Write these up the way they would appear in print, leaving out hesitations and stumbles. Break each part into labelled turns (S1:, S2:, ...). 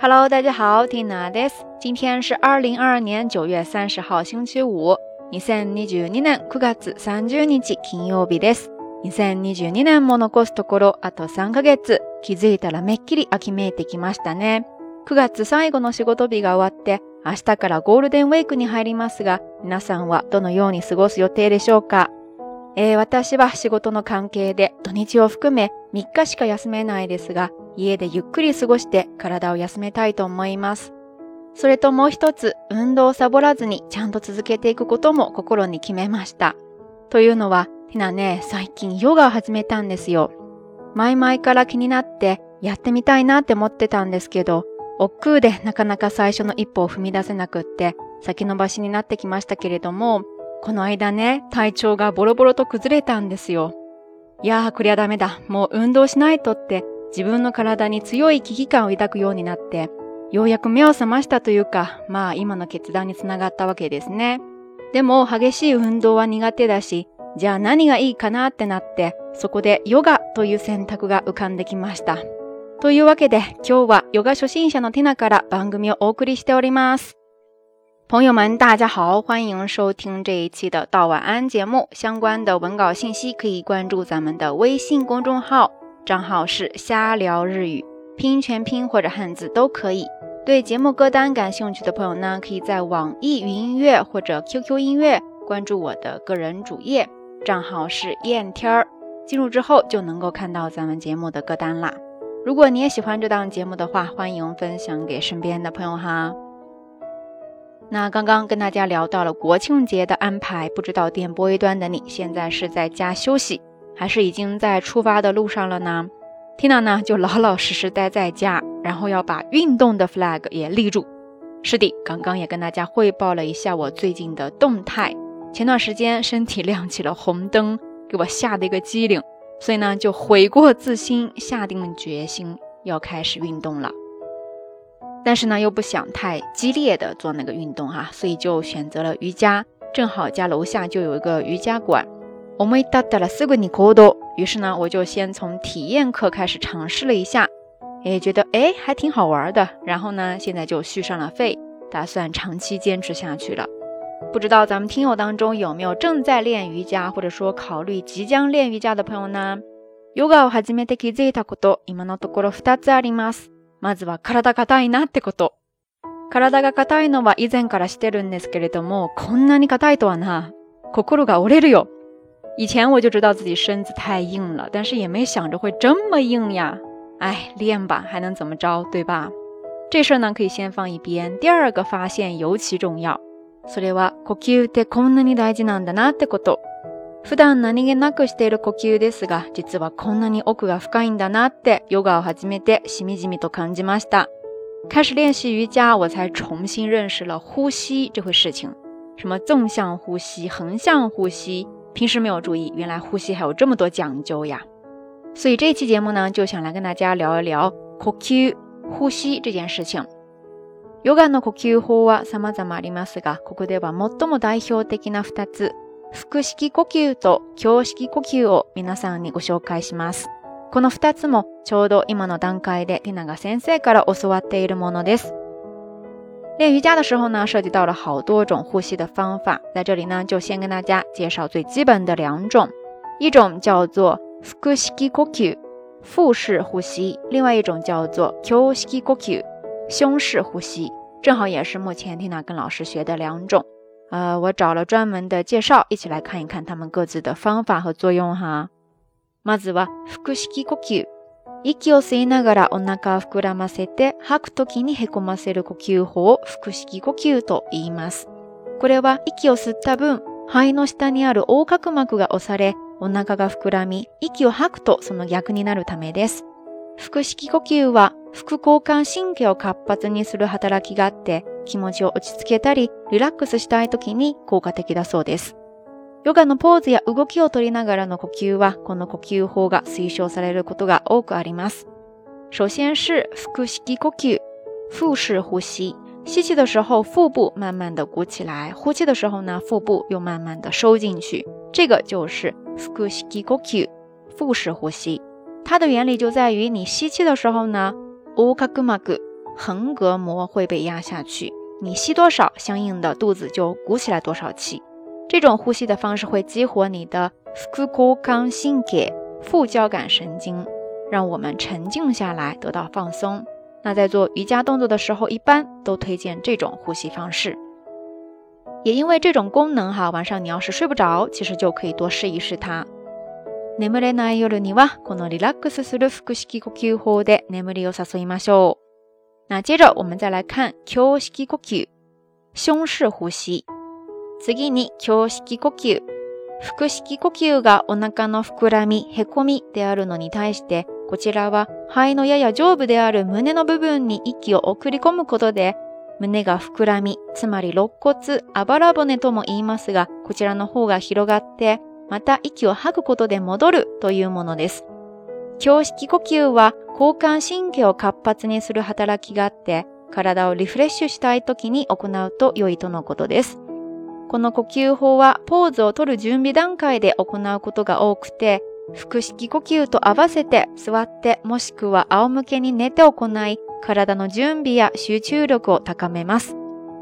S1: Hello， 大家好，Tina です。今天是2022年9月30号星期五。2022年9月30日金曜日です。2022年も残すところあと3ヶ月。気づいたらめっきり秋めいてきましたね。9月最後の仕事日が終わって、明日からゴールデンウィークに入りますが、皆さんはどのように過ごす予定でしょうか？私は仕事の関係で土日を含め3日しか休めないですが、家でゆっくり過ごして体を休めたいと思います。それともう一つ、運動をサボらずにちゃんと続けていくことも心に決めました。というのは、ティナね、最近ヨガを始めたんですよ。前々から気になってやってみたいなって思ってたんですけど、億劫でなかなか最初の一歩を踏み出せなくって先延ばしになってきましたけれども、この間ね、体調がボロボロと崩れたんですよ。いやー、こりゃダメだ。もう運動しないとって自分の体に強い危機感を抱くようになって、ようやく目を覚ましたというか、今の決断につながったわけですね。でも激しい運動は苦手だし、じゃあ何がいいかなってなって、そこでヨガという選択が浮かんできました。というわけで、今日はヨガ初心者のティナから番組をお送りしております。朋友们，大家好，欢迎收听这一期的到晚安节目。相关的文稿信息可以关注咱们的微信公众号，账号是瞎聊日语，拼音全拼或者汉字都可以。对节目歌单感兴趣的朋友呢，可以在网易云音乐或者 QQ 音乐关注我的个人主页，账号是燕天儿，进入之后就能够看到咱们节目的歌单啦。如果你也喜欢这档节目的话，欢迎分享给身边的朋友哈。那刚刚跟大家聊到了国庆节的安排，不知道电波一端的你现在是在家休息，还是已经在出发的路上了呢？ Tina 呢就老老实实待在家，然后要把运动的 flag 也立住。是的，刚刚也跟大家汇报了一下我最近的动态。前段时间身体亮起了红灯，给我吓得一个机灵，所以呢就悔过自新，下定决心要开始运动了。但是呢又不想太激烈的做那个运动哈，所以就选择了瑜伽，正好家楼下就有一个瑜伽馆。思い立ったらすぐに行動。于是呢我就先从体验课开始尝试了一下，觉得还挺好玩的，然后呢现在就续上了费，打算长期坚持下去了。不知道咱们听友当中有没有正在练瑜伽，或者说考虑即将练瑜伽的朋友呢？ヨガを始めて気づいたこと、今のところ2つあります。まずは体硬いなってこと。体が硬いのは以前からしてるんですけれども、こんなに硬いとはな。心が折れるよ。以前我就知道自己身子太硬了，但是也没想着会这么硬呀。练吧，还能怎么着，对吧？这事呢可以先放一边。第二个发现尤其重要。それは呼吸ってこんなに大事なんだなってこと。普段何気なくしている呼吸ですが、実はこんなに奥が深いんだなってヨガを始めてしみじみと感じました。开始练习瑜伽，我才重新认识了呼吸这回事情。什么纵向呼吸、横向呼吸，平时没有注意，原来呼吸还有这么多讲究呀。所以这期节目呢，就想来跟大家聊一聊呼吸、呼吸这件事情。ヨガの呼吸法は様々ありますが、ここでは最も代表的な2つ、腹式呼吸と胸式呼吸を皆さんにご紹介します。この2つもちょうど今の段階でティナが先生から教わっているものです。练瑜伽的时候呢，涉及到了好多种呼吸的方法，在这里呢就先跟大家介绍最基本的2种，一种叫做腹式呼吸，腹式呼吸，另外一种叫做胸式呼吸，胸式呼吸，正好也是目前 Tina 跟老师学的2种。我找了专門的介紹，一起来看一看他们各自的方法和作用哈。まずは腹式呼吸。息を吸いながらお腹を膨らませて吐くときにへこませる呼吸法を腹式呼吸と言います。これは息を吸った分、肺の下にある横隔膜が押され、お腹が膨らみ、息を吐くとその逆になるためです。腹式呼吸は副交感神経を活発にする働きがあって、気持ちを落ち着けたりリラックスしたいときに効果的だそうです。ヨガのポーズや動きを取りながらの呼吸は、この呼吸法が推奨されることが多くあります。首先是腹式呼吸，腹式呼吸。吸气的时候腹部慢慢的鼓起来，呼气的时候呢，腹部又慢慢的收进去，这个就是腹式呼吸，腹式呼吸。它的原理就在于你吸气的时候呢，横隔膜横膈膜会被压下去，你吸多少，相应的肚子就鼓起来多少气。这种呼吸的方式会激活你的副交感神経副交感神经，让我们沉静下来，得到放松。那在做瑜伽动作的时候，一般都推荐这种呼吸方式。也因为这种功能晚上你要是睡不着，其实就可以多试一试它。眠れない夜にはこのリラックスする腹式呼吸法で眠りを誘いましょう。那接着我们再来看胸式呼吸，胸式呼吸。次に胸式呼吸。腹式呼吸がお腹の膨らみ、へこみであるのに対して、こちらは肺のやや上部である胸の部分に息を送り込むことで、胸が膨らみ、つまり肋骨、あばら骨とも言いますが、こちらの方が広がって、また息を吐くことで戻るというものです。胸式呼吸は交感神経を活発にする働きがあって、体をリフレッシュしたい時に行うと良いとのことです。この呼吸法はポーズを取る準備段階で行うことが多くて、腹式呼吸と合わせて座ってもしくは仰向けに寝て行い、体の準備や集中力を高めます。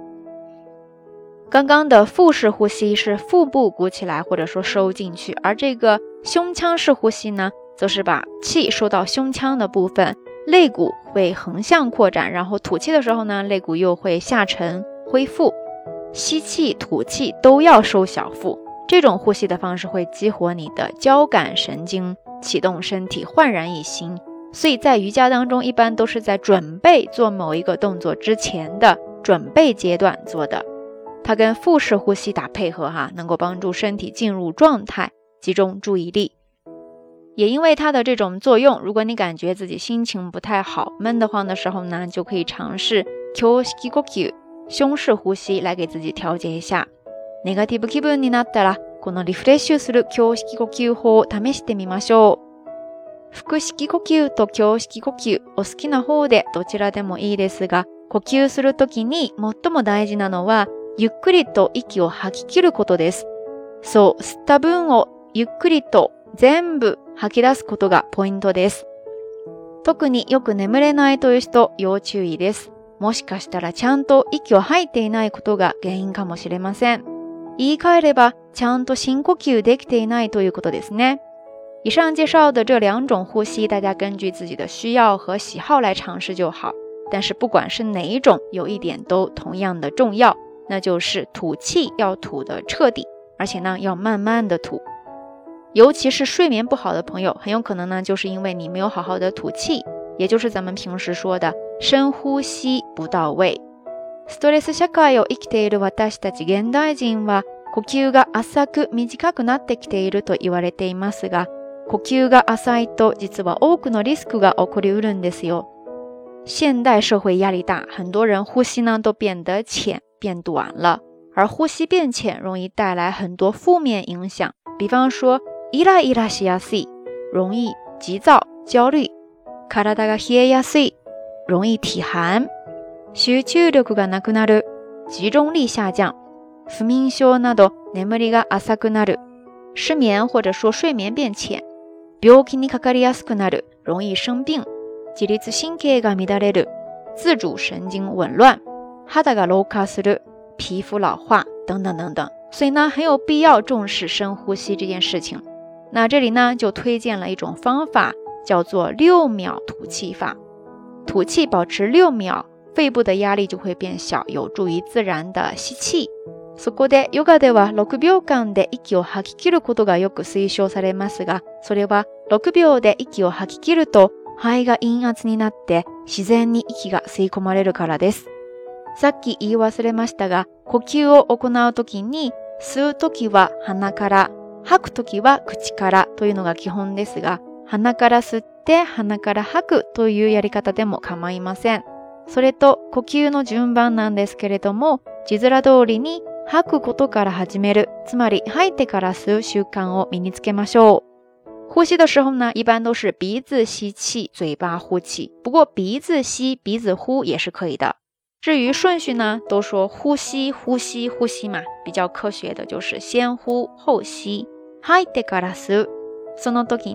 S1: 刚刚的腹式呼吸是腹部鼓起来或者说收进去，而这个胸腔式呼吸呢，则是把气收到胸腔的部分，肋骨会横向扩展，然后吐气的时候呢，肋骨又会下沉恢复。吸气吐气都要收小腹，这种呼吸的方式会激活你的交感神经，启动身体焕然一新。所以在瑜伽当中一般都是在准备做某一个动作之前的准备阶段做的，它跟腹式呼吸打配合能够帮助身体进入状态，集中注意力。也因为它的这种作用，如果你感觉自己心情不太好，闷得慌的时候呢，就可以尝试胸式呼吸胸式呼吸来给自己調節一下。ネガティブ気分になったら、このリフレッシュする胸式呼吸法を試してみましょう。腹式呼吸と胸式呼吸、お好きな方でどちらでもいいですが、呼吸するときに最も大事なのは、ゆっくりと息を吐き切ることです。そう、吸った分をゆっくりと全部吐き出すことがポイントです。特によく眠れないという人、要注意です。もしかしたらちゃんと息を吐いていないことが原因かもしれません。言い換えれば、ちゃんと深呼吸できていないということですね。以上介绍的这两种呼吸，大家根据自己的需要和喜好来尝试就好。但是不管是哪一种，有一点都同样的重要，那就是吐气要吐得彻底，而且呢要慢慢的吐。尤其是睡眠不好的朋友，很有可能呢就是因为你没有好好的吐气，也就是咱们平时说的深呼吸不到位。ストレス社会を生きている私たち現代人は、呼吸が浅く短くなってきていると言われていますが、呼吸が浅いと実は多くのリスクが起こりうるんですよ。现代社会压力大，很多人呼吸呢都变得浅变短了，而呼吸变浅容易带来很多负面影响，比方说イライラしやすい，容易急躁焦虑，体が冷えやすい，容易体寒，集中力がなくなる，集中力下降，不眠症など眠りが浅くなる，失眠或者说睡眠变浅，病気にかかりやすくなる，容易生病，自律神経が乱れる，自主神经紊乱，肌が老化する，皮肤老化等等等等。所以呢，很有必要重视深呼吸这件事情。那这里呢，就推荐了一种方法，叫做6秒吐气法。吐气保持6秒，肺部的压力就会变小，有助于自然的吸气。そこでヨガでは6秒間で息を吐き切ることがよく推奨されますが、それは6秒で息を吐き切ると肺が陰圧になって自然に息が吸い込まれるからです。さっき言い忘れましたが、呼吸を行うときに吸うときは鼻から、吐くときは口からというのが基本ですが、鼻から吸って鼻から吐くというやり方でも構いません。それと呼吸の順番なんですけれども、字面通りに吐くことから始める、つまり吐いてから吸う習慣を身につけましょう。呼吸的时候呢，一般都是鼻子吸气，嘴巴呼气。不过鼻子吸，鼻子呼也是可以的。至于顺序呢，都说呼吸呼吸呼吸嘛，比较科学的就是先呼后吸。吐いてから吸う。その時に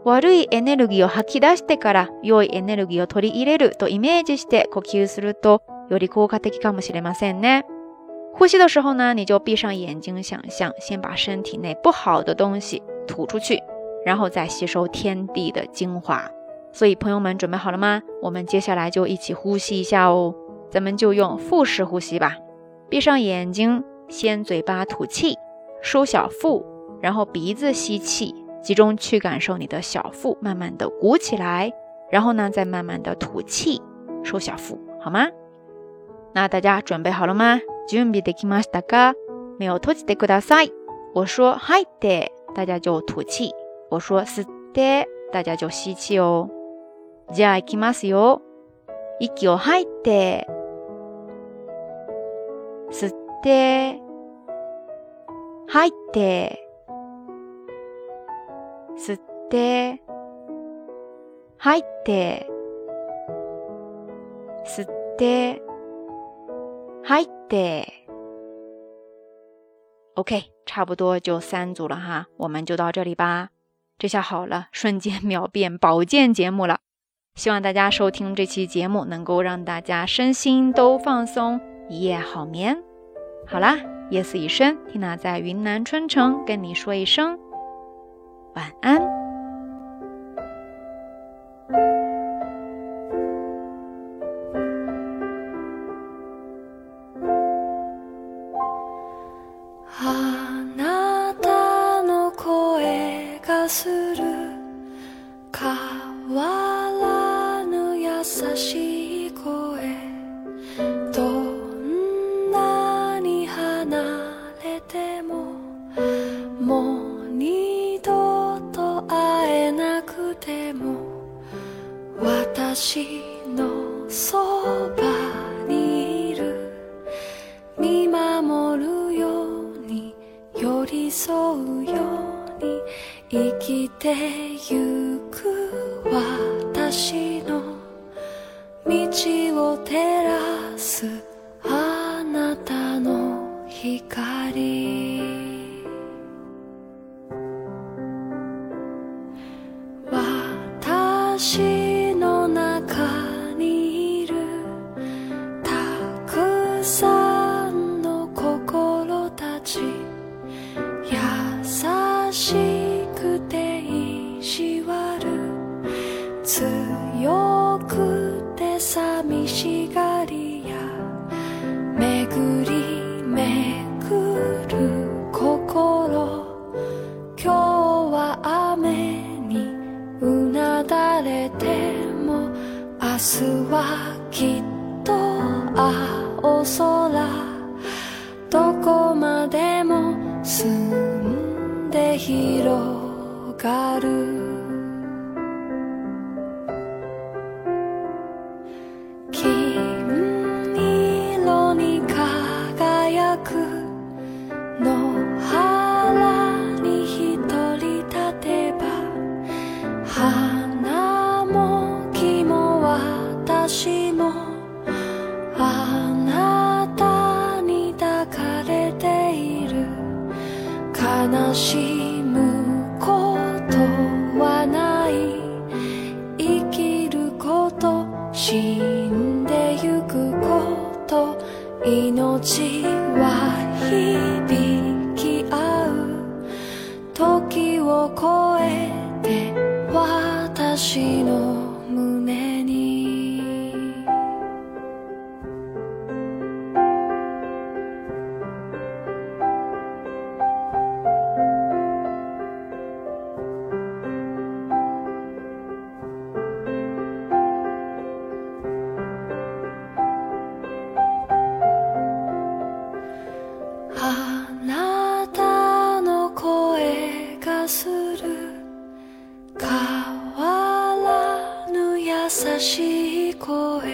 S1: 悪いエネルギーを吐き出してから良いエネルギーを取り入れるとイメージして呼吸するとより効果的かもしれませんね。呼吸的时候呢，你就闭上眼睛想象，先把身体内不好的东西吐出去，然后再吸收天地的精华。所以朋友们准备好了吗？我们接下来就一起呼吸一下哦。咱们就用腹式呼吸吧。闭上眼睛，先嘴巴吐气，收小腹，然后鼻子吸气，集中去感受你的小腹慢慢的鼓起来，然后呢再慢慢的吐气，收小腹，好吗？那大家准备好了吗？準備できましたか？目を閉じてください。我说吐いて，大家就吐气。我说吸って，大家就吸气哦。じゃあ行きますよ。息を吐いて、吸って、吐いて、吸って、吐いて、吸って、吐いて。OK， 差不多就3组了哈，我们就到这里吧。这下好了，瞬间秒变保健节目了。希望大家收听这期节目能够让大家身心都放松，一夜好眠。好啦，夜色已深，缇娜在云南春城跟你说一声晚安。
S2: あなたの声がする変わらぬ優しい声、どんなに離れてももう二度と会えなくても私のそばにいる、見守るように寄り添うように生きてゆく私の道を照らすあなたの光、私の中にいるたくさんの心たち、優しくて意地悪、強くて寂しがりや、巡り巡る心、今日は雨にうなだれても明日はきっと青空、どこまでも澄んで広がる、金色に輝く野原に一人立てば、花も木も私もあなたに抱かれている、悲しむことはない、生きること、死んでゆくこと、命は響き合う、時を超えて私の胸に、あなたの声がする変わらぬ優しい声、